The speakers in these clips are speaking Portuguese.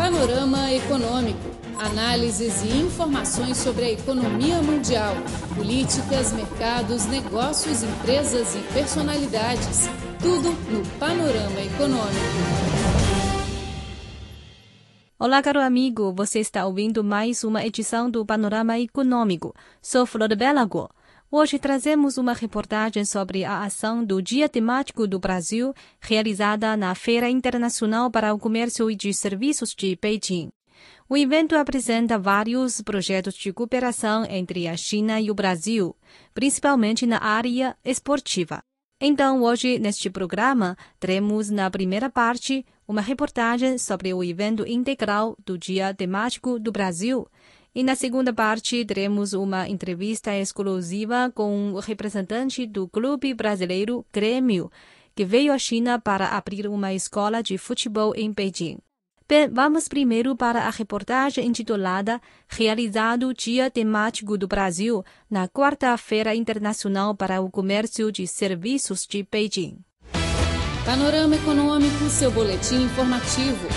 Panorama Econômico. Análises e informações sobre a economia mundial, políticas, mercados, negócios, empresas e personalidades. Tudo no Panorama Econômico. Olá, caro amigo. Você está ouvindo mais uma edição do Panorama Econômico. Sou Flor Belago. Hoje trazemos uma reportagem sobre a ação do Dia Temático do Brasil, realizada na Feira Internacional para o Comércio e de Serviços de Beijing. O evento apresenta vários projetos de cooperação entre a China e o Brasil, principalmente na área esportiva. Então, hoje, neste programa, teremos na primeira parte uma reportagem sobre o evento integral do Dia Temático do Brasil. E na segunda parte, teremos uma entrevista exclusiva com o representante do Clube Brasileiro Grêmio, que veio à China para abrir uma escola de futebol em Beijing. Bem, vamos primeiro para a reportagem intitulada Realizado Dia Temático do Brasil na Quarta-feira Internacional para o Comércio de Serviços de Beijing. Panorama Econômico, seu boletim informativo.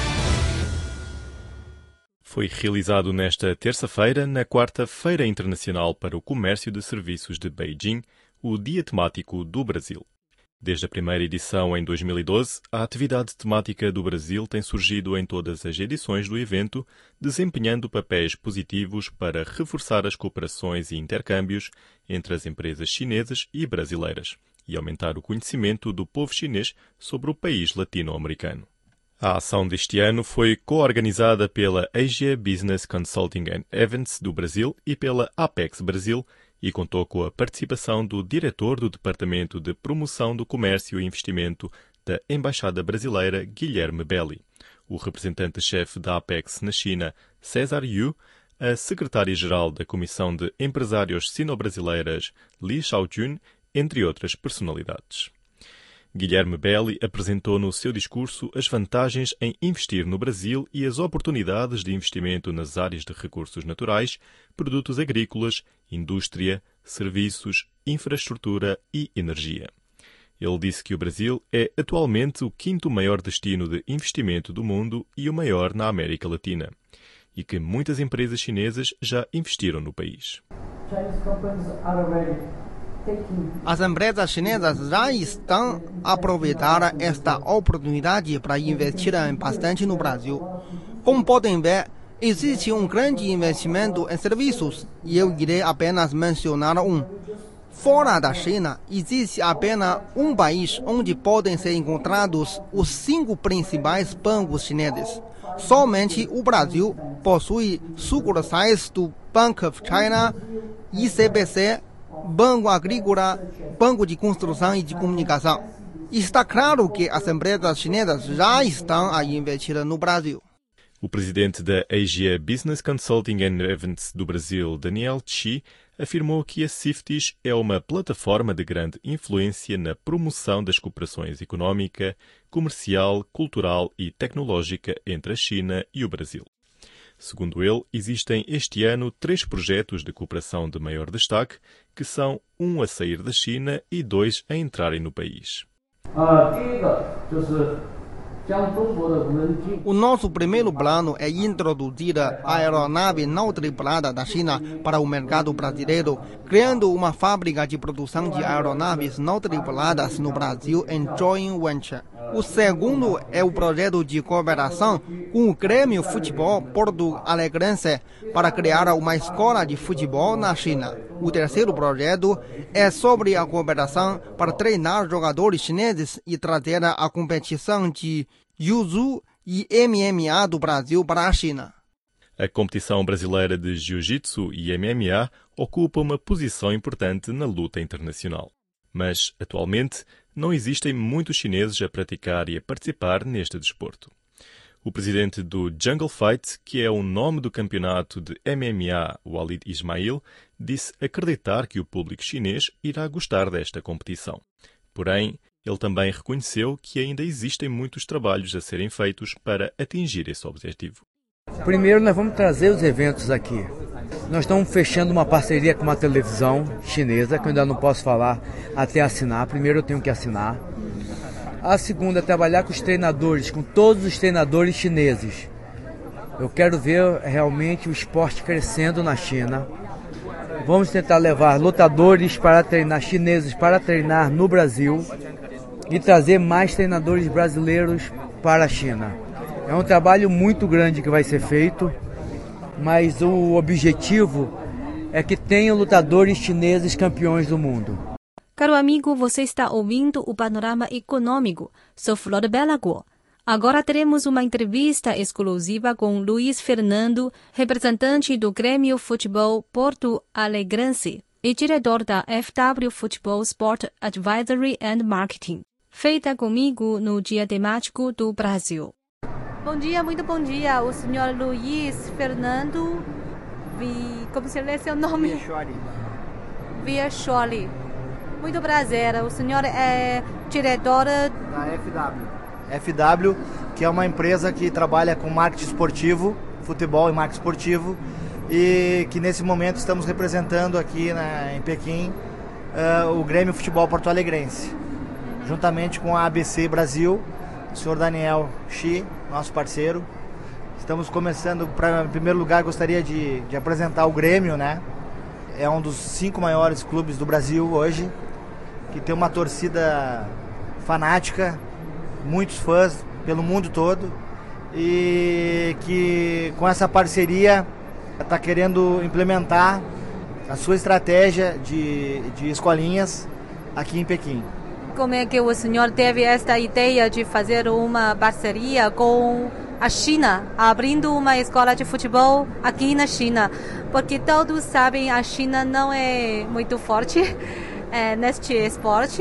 Foi realizado nesta terça-feira, na Quarta-feira Internacional para o Comércio de Serviços de Beijing, o Dia Temático do Brasil. Desde a primeira edição em 2012, a atividade temática do Brasil tem surgido em todas as edições do evento, desempenhando papéis positivos para reforçar as cooperações e intercâmbios entre as empresas chinesas e brasileiras e aumentar o conhecimento do povo chinês sobre o país latino-americano. A ação deste ano foi co-organizada pela Asia Business Consulting and Events do Brasil e pela Apex Brasil e contou com a participação do diretor do Departamento de Promoção do Comércio e Investimento da Embaixada Brasileira, Guilherme Belli, o representante-chefe da Apex na China, César Yu, a secretária-geral da Comissão de Empresários Sino-Brasileiras, Li Shaojun, entre outras personalidades. Guilherme Belli apresentou no seu discurso as vantagens em investir no Brasil e as oportunidades de investimento nas áreas de recursos naturais, produtos agrícolas, indústria, serviços, infraestrutura e energia. Ele disse que o Brasil é atualmente o quinto maior destino de investimento do mundo e o maior na América Latina, e que muitas empresas chinesas já investiram no país. As empresas chinesas já estão a aproveitar esta oportunidade para investir bastante no Brasil. Como podem ver, existe um grande investimento em serviços e eu irei apenas mencionar um. Fora da China, existe apenas um país onde podem ser encontrados os 5 principais bancos chineses. Somente o Brasil possui sucursais do Bank of China, ICBC, Banco Agrícola, Banco de Construção e de Comunicação. Está claro que as empresas chinesas já estão a investir no Brasil. O presidente da Asia Business Consulting and Events do Brasil, Daniel Chi, afirmou que a CIFTIS é uma plataforma de grande influência na promoção das cooperações económica, comercial, cultural e tecnológica entre a China e o Brasil. Segundo ele, existem este ano 3 projetos de cooperação de maior destaque, que são 1 a sair da China e 2 a entrarem no país. O nosso primeiro plano é introduzir a aeronave não tripulada da China para o mercado brasileiro, criando uma fábrica de produção de aeronaves não tripuladas no Brasil em joint venture. O segundo é o projeto de cooperação com o Grêmio Futebol Porto Alegrense para criar uma escola de futebol na China. O terceiro projeto é sobre a cooperação para treinar jogadores chineses e trazer a competição de Jiu-Jitsu e MMA do Brasil para a China. A competição brasileira de Jiu-Jitsu e MMA ocupa uma posição importante na luta internacional. Mas, atualmente, não existem muitos chineses a praticar e a participar neste desporto. O presidente do Jungle Fight, que é o nome do campeonato de MMA, Walid Ismail, disse acreditar que o público chinês irá gostar desta competição. Porém, ele também reconheceu que ainda existem muitos trabalhos a serem feitos para atingir esse objetivo. Primeiro, nós vamos trazer os eventos aqui. Nós estamos fechando uma parceria com uma televisão chinesa, que eu ainda não posso falar até assinar. Primeiro eu tenho que assinar. A segunda é trabalhar com os treinadores, com todos os treinadores chineses. Eu quero ver realmente o esporte crescendo na China. Vamos tentar levar lutadores para treinar, chineses para treinar no Brasil e trazer mais treinadores brasileiros para a China. É um trabalho muito grande que vai ser feito, mas o objetivo é que tenham lutadores chineses campeões do mundo. Caro amigo, você está ouvindo o Panorama Econômico. Sou Flor Belagor. Agora teremos uma entrevista exclusiva com Luiz Fernando, representante do Grêmio Futebol Porto Alegrense e diretor da FW Futebol Sport Advisory and Marketing, feita comigo no Dia Temático do Brasil. Bom dia, muito bom dia. O senhor Luiz Fernando, como se lê seu nome? Viacholi. Muito prazer. O senhor é diretor da FW. FW, que é uma empresa que trabalha com marketing esportivo, futebol e marketing esportivo, e que nesse momento estamos representando aqui em Pequim o Grêmio Futebol Porto Alegrense, juntamente com a ABC Brasil, o senhor Daniel Xi, nosso parceiro. Estamos começando, em primeiro lugar, gostaria de apresentar o Grêmio, né? É um dos 5 maiores clubes do Brasil hoje, que tem uma torcida fanática, muitos fãs pelo mundo todo, e que com essa parceria está querendo implementar a sua estratégia de escolinhas aqui em Pequim. Como é que o senhor teve esta ideia de fazer uma parceria com a China, abrindo uma escola de futebol aqui na China? Porque todos sabem, a China não é muito forte neste esporte,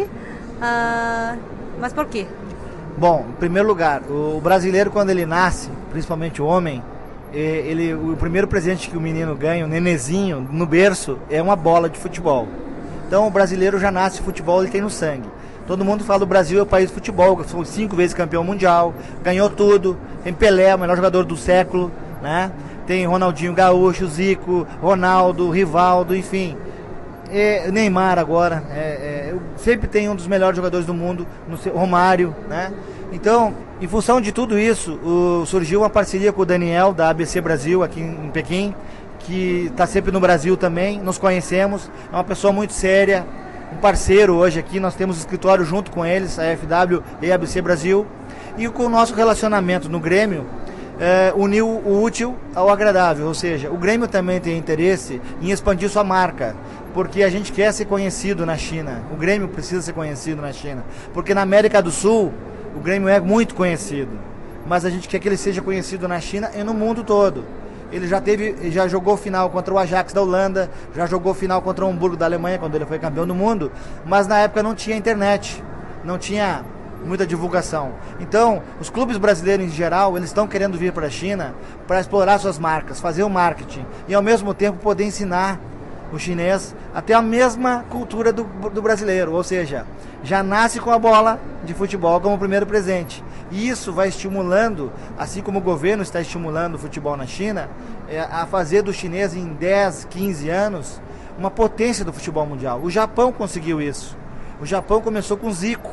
mas por quê? Bom, em primeiro lugar, o brasileiro, quando ele nasce, principalmente o homem, o primeiro presente que o menino ganha, o nenezinho, no berço, é uma bola de futebol. Então o brasileiro já nasce futebol, ele tem no sangue. Todo mundo fala que o Brasil é o país de futebol, foi 5 vezes campeão mundial, ganhou tudo, tem Pelé, o melhor jogador do século, né? Tem Ronaldinho Gaúcho, Zico, Ronaldo, Rivaldo, enfim. Neymar agora, sempre tem um dos melhores jogadores do mundo, Romário, né? Então, em função de tudo isso, surgiu uma parceria com o Daniel, da ABC Brasil, aqui em Pequim, que está sempre no Brasil também, nos conhecemos, é uma pessoa muito séria, um parceiro hoje aqui, nós temos escritório junto com eles, a FW e a ABC Brasil, e com o nosso relacionamento no Grêmio, uniu o útil ao agradável, ou seja, o Grêmio também tem interesse em expandir sua marca, porque a gente quer ser conhecido na China, o Grêmio precisa ser conhecido na China, porque na América do Sul o Grêmio é muito conhecido, mas a gente quer que ele seja conhecido na China e no mundo todo. Ele já jogou final contra o Ajax da Holanda, já jogou final contra o Hamburgo da Alemanha, quando ele foi campeão do mundo, mas na época não tinha internet, não tinha muita divulgação. Então, os clubes brasileiros em geral, eles estão querendo vir para a China para explorar suas marcas, fazer o marketing e ao mesmo tempo poder ensinar o chinês a ter a mesma cultura do brasileiro, ou seja, já nasce com a bola de futebol como primeiro presente. E isso vai estimulando, assim como o governo está estimulando o futebol na China, a fazer do chinês em 10, 15 anos uma potência do futebol mundial. O Japão conseguiu isso. O Japão começou com Zico.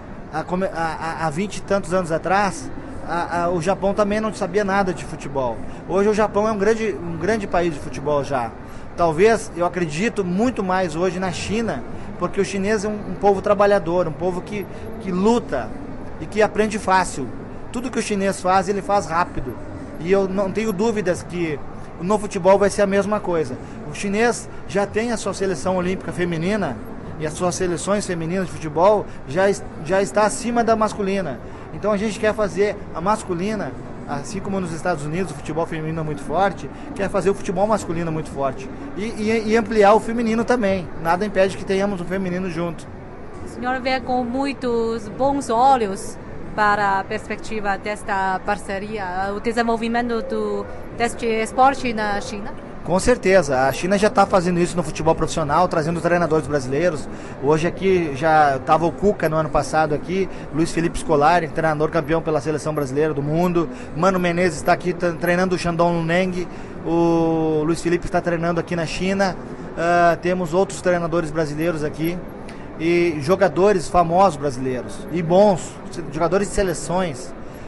Há 20 e tantos anos atrás, o Japão também não sabia nada de futebol. Hoje o Japão é um grande país de futebol já. Talvez, eu acredito muito mais hoje na China, porque o chinês é um povo trabalhador, um povo que luta e que aprende fácil. Tudo que o chinês faz, ele faz rápido. E eu não tenho dúvidas que no futebol vai ser a mesma coisa. O chinês já tem a sua seleção olímpica feminina, e as suas seleções femininas de futebol já está acima da masculina. Então a gente quer fazer a masculina, assim como nos Estados Unidos o futebol feminino é muito forte, quer fazer o futebol masculino muito forte. E ampliar o feminino também. Nada impede que tenhamos o feminino junto. O senhor vê com muitos bons olhos para a perspectiva desta parceria, o desenvolvimento deste esporte na China? Com certeza, a China já está fazendo isso no futebol profissional, trazendo treinadores brasileiros. Hoje aqui já estava o Cuca no ano passado aqui, Luiz Felipe Scolari, treinador campeão pela seleção brasileira do mundo. Mano Menezes está aqui treinando o Shandong Luneng, o Luiz Felipe está treinando aqui na China. Temos outros treinadores brasileiros aqui e jogadores famosos brasileiros e bons, jogadores de seleções.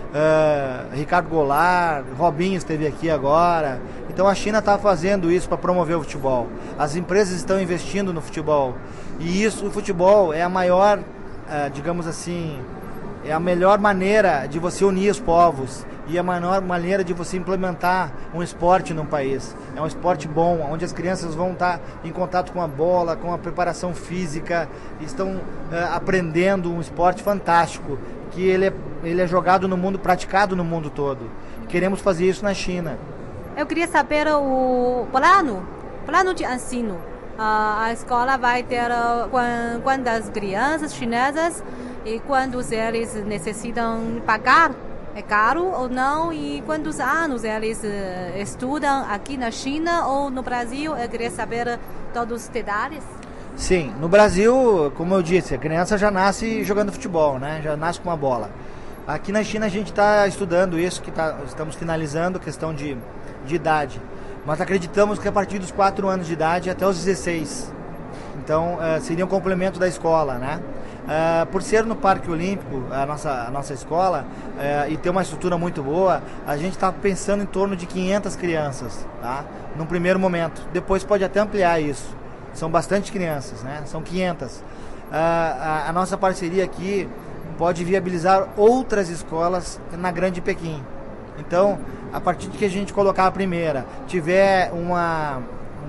Ricardo Goulart, Robinho esteve aqui agora. Então a China está fazendo isso para promover o futebol. As empresas estão investindo no futebol. E isso, o futebol é a maior, digamos assim, é a melhor maneira de você unir os povos e a maior maneira de você implementar um esporte num país. É um esporte bom, onde as crianças vão estar em contato com a bola, com a preparação física, estão aprendendo um esporte fantástico, que ele é jogado no mundo, praticado no mundo todo. Queremos fazer isso na China. Eu queria saber o plano de ensino. A escola vai ter quantas crianças chinesas e quantos eles necessitam pagar? É caro ou não? E quantos anos eles estudam aqui na China ou no Brasil? Eu queria saber todos os detalhes. Sim, no Brasil, como eu disse, a criança já nasce jogando futebol, né? Já nasce com uma bola. Aqui na China a gente está estudando isso, estamos finalizando a questão de idade. Mas acreditamos que a partir dos 4 anos de idade até os 16. Então, seria um complemento da escola, né? Por ser no Parque Olímpico, a nossa escola, e ter uma estrutura muito boa, a gente está pensando em torno de 500 crianças, tá? Num primeiro momento. Depois pode até ampliar isso. São bastante crianças, né? São 500. A nossa parceria aqui pode viabilizar outras escolas na Grande Pequim. Então, a partir de que a gente colocar a primeira, tiver uma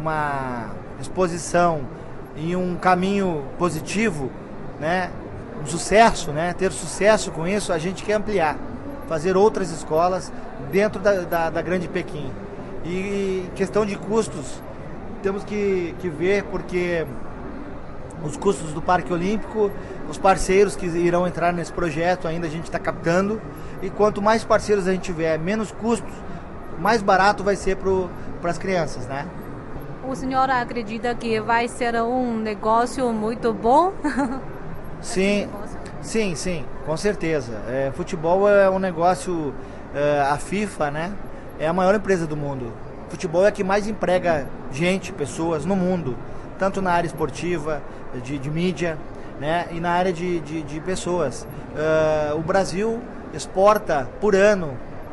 exposição e um caminho positivo, né, um sucesso, né, ter sucesso com isso, a gente quer ampliar, fazer outras escolas dentro da Grande Pequim. E questão de custos, temos que ver, porque os custos do Parque Olímpico, os parceiros que irão entrar nesse projeto ainda a gente está captando, e quanto mais parceiros a gente tiver, menos custos, mais barato vai ser para as crianças, né? O senhor acredita que vai ser um negócio muito bom? Sim, com certeza. Futebol é um negócio, a FIFA, né, é a maior empresa do mundo. Futebol é a que mais emprega pessoas no mundo, tanto na área esportiva, de mídia, né, e na área de pessoas. O Brasil exporta por ano,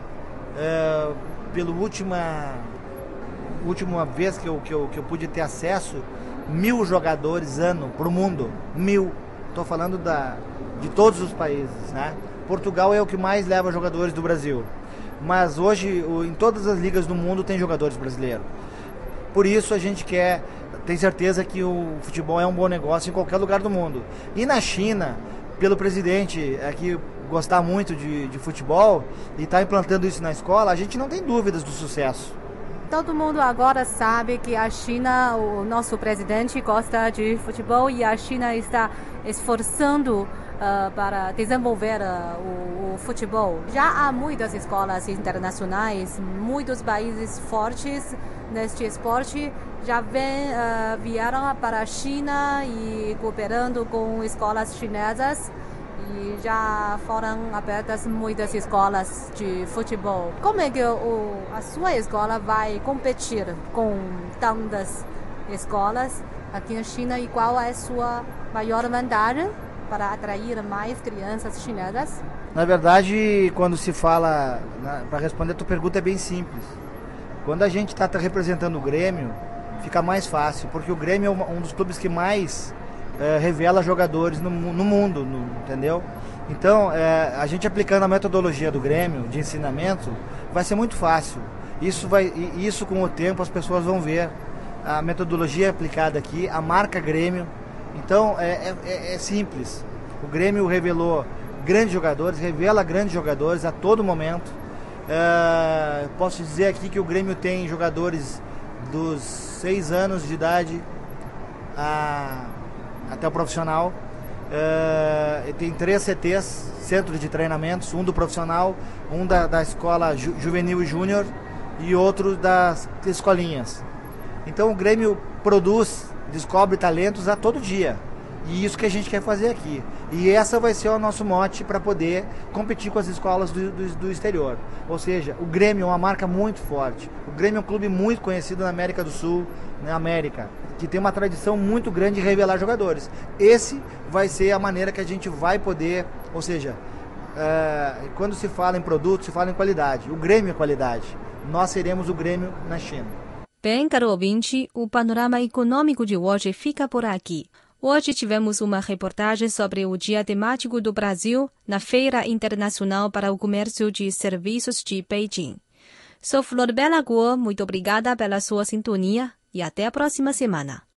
pela última vez que eu pude ter acesso, 1.000 jogadores ano para o mundo. 1.000. Estou falando de todos os países, né? Portugal é o que mais leva jogadores do Brasil. Mas hoje, em todas as ligas do mundo, tem jogadores brasileiros. Por isso a gente tem certeza que o futebol é um bom negócio em qualquer lugar do mundo. E na China, pelo presidente aqui gostar muito de futebol e estar implantando isso na escola, a gente não tem dúvidas do sucesso. Todo mundo agora sabe que a China, o nosso presidente gosta de futebol e a China está esforçando para desenvolver o futebol. Já há muitas escolas internacionais, muitos países fortes neste esporte já vieram para a China e cooperando com escolas chinesas. E já foram abertas muitas escolas de futebol. Como é que a sua escola vai competir com tantas escolas aqui na China e qual é a sua maior vantagem para atrair mais crianças chinesas? Na verdade, quando se fala, para responder a tua pergunta, é bem simples. Quando a gente está representando o Grêmio, fica mais fácil, porque o Grêmio é um dos clubes que mais revela jogadores no mundo, entendeu? Então, a gente aplicando a metodologia do Grêmio de ensinamento, vai ser muito fácil. Isso com o tempo as pessoas vão ver a metodologia aplicada aqui, a marca Grêmio. Então, é simples. O Grêmio revelou grandes jogadores, revela grandes jogadores a todo momento. Posso dizer aqui que o Grêmio tem jogadores dos 6 anos de idade até o profissional. Tem 3 CTs, centros de treinamentos, um do profissional, um da escola juvenil e júnior e outro das escolinhas. Então o Grêmio descobre talentos a todo dia. E isso que a gente quer fazer aqui. E essa vai ser o nosso mote para poder competir com as escolas do exterior. Ou seja, o Grêmio é uma marca muito forte. O Grêmio é um clube muito conhecido na América do Sul, na América, que tem uma tradição muito grande de revelar jogadores. Esse vai ser a maneira que a gente vai poder, ou seja, quando se fala em produto, se fala em qualidade. O Grêmio é qualidade. Nós seremos o Grêmio na China. Bem, caro ouvinte, o panorama econômico de hoje fica por aqui. Hoje tivemos uma reportagem sobre o Dia Temático do Brasil na Feira Internacional para o Comércio de Serviços de Beijing. Sou Flor Bela Guo, muito obrigada pela sua sintonia e até a próxima semana.